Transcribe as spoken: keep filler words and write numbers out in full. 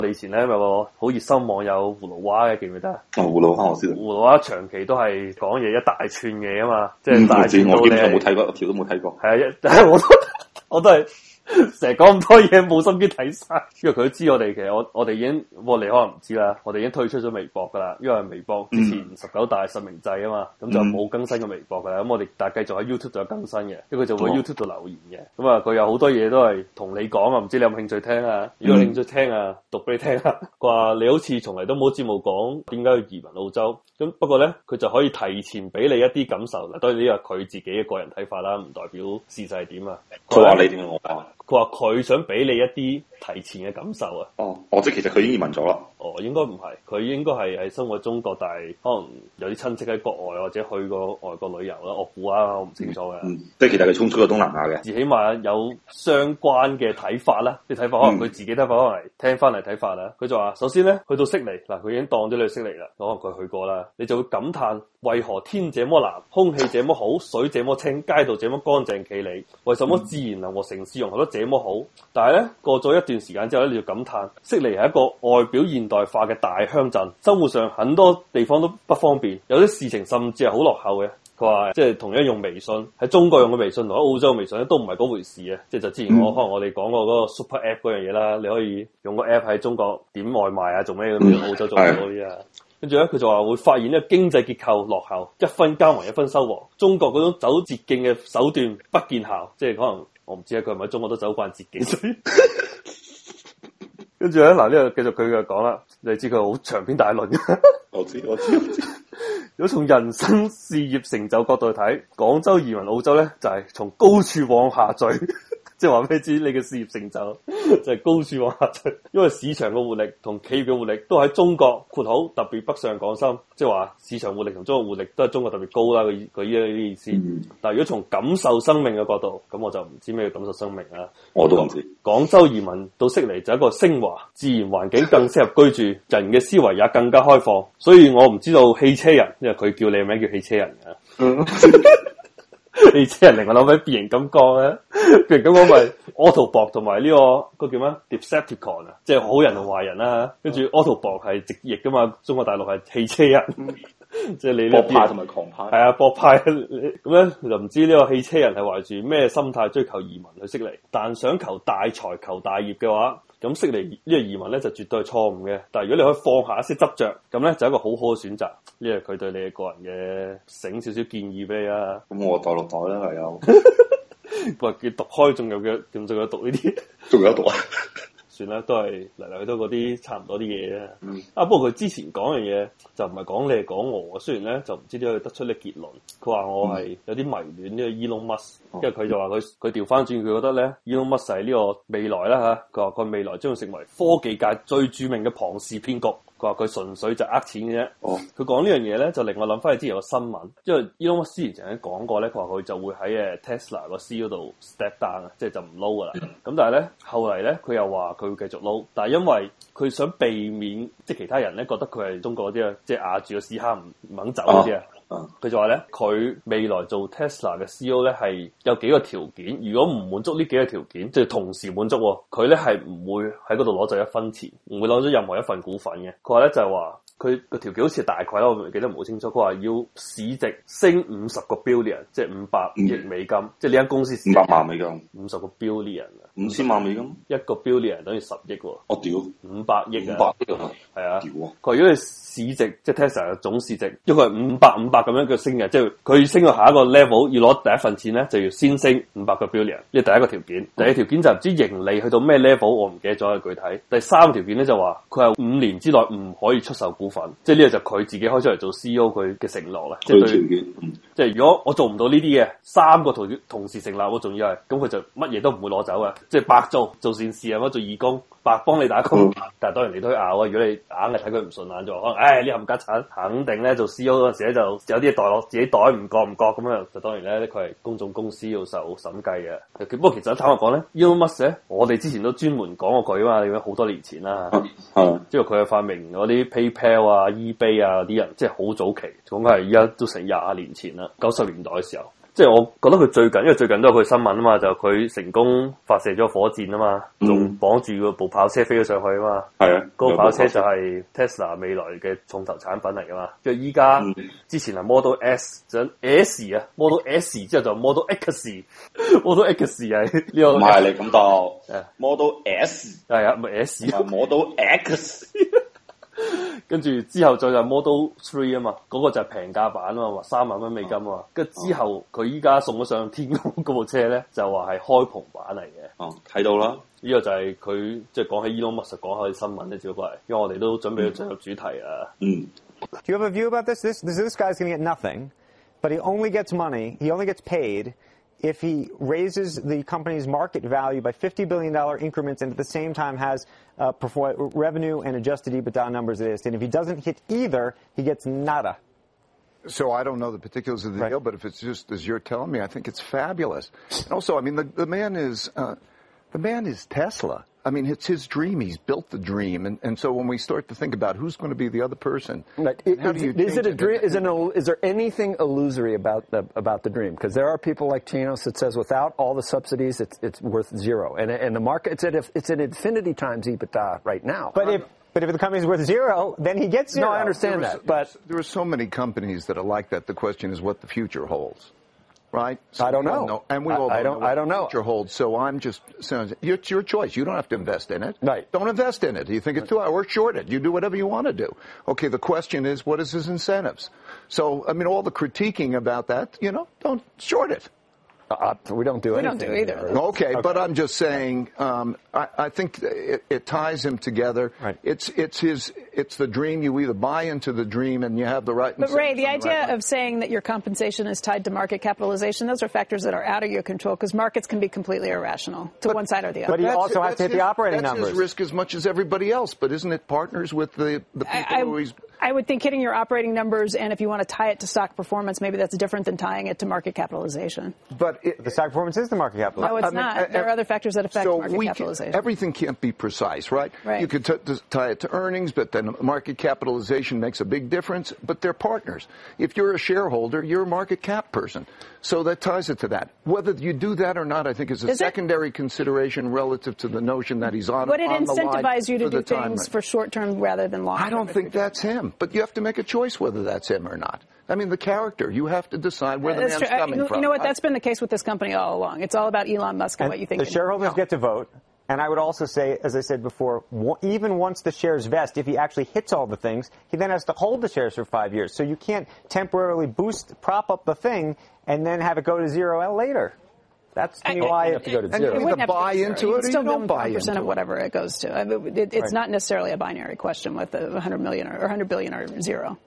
我哋以前咧有個好熱心網友葫蘆娃嘅，記唔記得啊？ 哦，葫蘆娃我知道。 葫蘆娃長期都係講嘢一大串嘢啊嘛，即係大串到你。我基本上冇睇過，條都冇睇過。 係啊，一我都我都係。成日講咁多嘢，冇心機睇晒，因為佢都知我哋其實我我哋已經，我你可能唔知啦，我哋已經退出咗微博噶啦，因為微博之前十九大實名制啊嘛，咁、嗯、就冇更新嘅微博噶啦，咁我哋但係繼續喺 YouTube 度有更新嘅，因為佢就會喺 YouTube 度留言嘅，咁啊佢有好多嘢都係同你講啊，唔知你有冇興趣聽啊？如果有興趣聽啊，讀俾你聽啊，佢話你好似從嚟都冇節目講點解要移民澳洲，咁不過咧佢就可以提前俾你一啲感受，嗱當然呢個係佢自己嘅個人睇法啦，唔代表事實係點啊。 佢話你點樣我講？ 佢話佢想俾你一啲提前嘅感受啊！ 哦，哦，即係其實佢已經移民咗啦。 哦，應該唔係，佢應該係喺生活中國，但係可能有啲親戚喺國外或者去過外國旅遊啦。我估啊，我唔清楚嘅。 嗯，即係其實佢衝出咗東南亞嘅。 至起碼有相關嘅睇法啦，啲睇法可能佢自己睇法，可能係聽翻嚟睇法啦。佢就話：首先咧，去到悉尼嗱，佢已經當咗你去悉尼啦，可能佢去過啦，你就會感嘆為何天這麼藍，空氣這麼好，水這麼清，街道這麼乾淨企理，為什麼自然能和城市融合得這麼好？但係咧，過咗一段時間之後咧，你就感嘆悉尼係一個外表現代化嘅大鄉鎮，生活上很多地方都不方便，有啲事情甚至係好落後嘅。佢話即係同樣用微信喺中國用嘅微信同喺澳洲嘅微信咧都唔係嗰回事嘅，即係就之前我、嗯、可能我哋講過嗰個 Super App 嗰樣嘢啦，你可以用個 App 喺中國點外賣啊，做咩咁樣，澳洲做唔到啲啊。跟住咧，佢就話會發現呢個經濟結構落後，一分耕耘一分收穫。中國嗰種走捷徑嘅手段不見效，即係可能我唔知啊，佢係咪喺中國都走慣捷徑？所以跟住咧，嗱呢個繼續佢嘅講啦，你知佢好長篇大論嘅。 我知我知我知。 如果從人生事業成就角度去睇，廣州移民澳洲咧，就係、是、從高處往下墜。即係話俾你知，你嘅事業成就就係高處往下墜，因為市場嘅活力同企業嘅活力都喺中國括好，特別北上廣深，即係話市場活力同中國活力都係中國特別高啦。佢佢依啲意思。嗯、但係如果從感受生命嘅角度，咁我就唔知咩叫感受生命啦。 我都唔知。 廣州移民到悉尼就係一個升華，自然環境更適合居住，人嘅思維也更加開放。所以我唔知道汽車人，因為佢叫你嘅名叫汽車人嘅。嗯汽車人令我諗起變形金剛咧，變形金剛咪 Autobot 同埋呢個個叫咩 Decepticon 啊，即係好人同壞人啦。跟住 Autobot 係直譯噶嘛，中國大陸係汽車人，即係你博派同埋狂派。係啊，博派咁咧就唔知呢個汽車人係懷住咩心態追求移民去悉尼，但想求大財求大業嘅話，咁悉尼呢個移民咧就絕對係錯誤嘅。但係如果你可以放下一些執着，咁咧就係一個好好嘅選擇。呢個佢對你嘅個人嘅醒少少建議俾你啊。 咁我袋落袋啦，係有。 喂，佢讀開仲有嘅，仲仲有讀呢啲？ 仲有讀啊？ 算啦，都係嚟嚟去都嗰啲差唔多啲嘢啫。嗯、啊，不過佢之前講嘅嘢就唔係講你係講我，雖然咧就唔知點解得出呢結論。佢話我係有啲迷戀呢個 Elon Musk，因為佢就話佢佢調翻轉，佢覺得咧 Elon Musk 係呢個未來啦吓。佢話佢未來將會成為科技界最著名嘅龐氏騙局。佢話佢純粹就呃錢嘅啫。哦，佢講呢樣嘢咧，就令我諗翻起之前個新聞，因為 Elon Musk 之前曾經講過咧，佢話佢就會喺誒 Tesla 個 C E O 度 step down 啊，即係就唔撈噶啦。咁但係咧後嚟咧，佢又話佢會繼續撈，但係因為佢想避免即係其他人咧覺得佢係中國嗰啲啊，即係壓住個屎坑唔唔肯走嗰啲啊。佢就話咧，佢未來做 Tesla 嘅 C E O 咧係有幾個條件，如果唔滿足呢幾個條件，即係同時滿足，佢咧係唔會喺嗰度攞走一分錢，唔會攞咗任何一份股份嘅。佢話咧就係話。佢個條件好似大概啦，我唔記得唔好清楚。佢話要市值升五十個 billion，即係五百億美金，嗯、即係呢間公司市值五百萬美金， 五十個 billion 啊， 五千萬美金， 一個 billion 等於十億喎。 我屌， 五百億啊， 五百億啊， 係啊， 屌啊！ 佢話如果你市值即係 Tesla 嘅總市值，因為佢係五百五百咁樣嘅升嘅，即係佢升到下一個 level 要攞第一份錢咧，就要先升五百個 billion，呢係第一個條件。第二條件就唔知盈利去到咩 level，我唔記得咗具體。第三條件咧就話佢係五年之內唔可以出售股份，即係呢個就。佢自己開出嚟做 C E O 佢嘅承諾啦，即係對，嗯、即係如果我做唔到呢啲嘅三個同同時成立，我仲要係咁佢就乜嘢都唔會攞走啊，即係白做做善事啊，乜做義工，白幫你打工。嗯、但係當然你都去拗啊，如果你硬係睇佢唔順眼就可能，唉呢冚家鏟肯定咧做 C E O 嗰陣時咧就有啲嘢袋落自己袋唔覺唔覺咁樣，就當然咧佢係公眾公司要受審計嘅。不過其實坦白講咧 Elon Musk 咧，我哋之前都專門講過佢啊嘛，你好多年前啦，即係佢係發明嗰啲 PayPal 啊、eBay 啊啲人，即係好早期，講係而家都成廿年前啦，九十年代嘅時候。 即係我覺得佢最近，因為最近都有佢新聞啊嘛，就佢成功發射咗火箭啊嘛，仲綁住個部跑車飛咗上去啊嘛。係啊，嗰個跑車就係 Tesla 未來嘅重頭產品嚟噶嘛。跟住依家之前係 Model S，就 S 啊 ，Model S 之後就 Model X，Model X 係呢個。唔係你咁讀，Model S 係啊，咪 S，Model X。跟住之後再就 Model Three 啊嘛，嗰、那個就係平價版啊嘛，話三萬蚊美金啊嘛。跟住、哦、之後佢依家送咗上天空嗰部車咧，就話係開篷版嚟嘅。哦，睇到啦，呢個就係佢即係講起 Elon Musk 講下啲新聞咧，只不過係因為我哋都準備要進入主題啊。嗯。 Do you have a view about this? This this, this guy's going to get nothing, but he only gets money. He only gets paid if he raises the company's market value by fifty billion dollars increments and at the same time has uh, perform- revenue and adjusted EBITDA numbers that is. And if he doesn't hit either, he gets nada. So I don't know the particulars of the right. deal, but if it's just as you're telling me, I think it's fabulous. And also, I mean, the, the man is uh, the man is Tesla. I mean, it's his dream. He's built the dream, and, and so when we start to think about who's going to be the other person, right. it, how do you is it a dream? Is, it a, is there anything illusory about the about the dream? Because there are people like Chinos that says without all the subsidies, it's it's worth zero, and and the market it's at it's at infinity times EBITDA right now. But if but if the company's worth zero, then he gets zero. No, I understand was, that, but there are so many companies that are like that. The question is what the future holds. Right? So I don't know. know. And we all I, I don't, know I don't know. Future holds. So I'm just saying, it's your choice. You don't have to invest in it. Right. Don't invest in it. You think it's too high or short it. You do whatever you want to do. Okay, the question is, what is his incentives? So, I mean, all the critiquing about that, you know, don't short it. Uh, we don't do we anything. We don't do either. Okay, okay, but I'm just saying, um, I, I think it, it ties him together. Right. It's it's his it's the dream. You either buy into the dream and you have the right. But Ray, the idea right of saying that your compensation is tied to market capitalization, those are factors that are out of your control because markets can be completely irrational to but, one side or the other. But he also has to hit his, the operating that's numbers. That's his risk as much as everybody else. But isn't it partners with the the people I, I, who he's? I would think hitting your operating numbers, and if you want to tie it to stock performance, maybe that's different than tying it to market capitalization. But it, the stock performance is the market capitalization. No, it's I mean, not. I, I, there are other factors that affect so market we capitalization. Can, everything can't be precise, right? Right. You could t- t- tie it to earnings, but then market capitalization makes a big difference. But they're partners. If you're a shareholder, you're a market cap person. So that ties it to that. Whether you do that or not, I think is a is secondary it? consideration relative to the notion that he's on. Would it on incentivize you to do things time. for short term rather than long term? I don't think that's him. But you have to make a choice whether that's him or not. I mean, the character. You have to decide where the That's man's true. coming you, from. You know what? That's been the case with this company all along. It's all about Elon Musk and, and what you think. The shareholders no. get to vote. And I would also say, as I said before, even once the shares vest, if he actually hits all the things, he then has to hold the shares for five years. So you can't temporarily boost, prop up the thing, and then have it go to zero later. That's to me why you have to go to zero. And you either buy into it or you don't buy into it. Percent of whatever it goes to. I mean, it, it's right. not necessarily a binary question with a hundred million or a hundred billion or zero.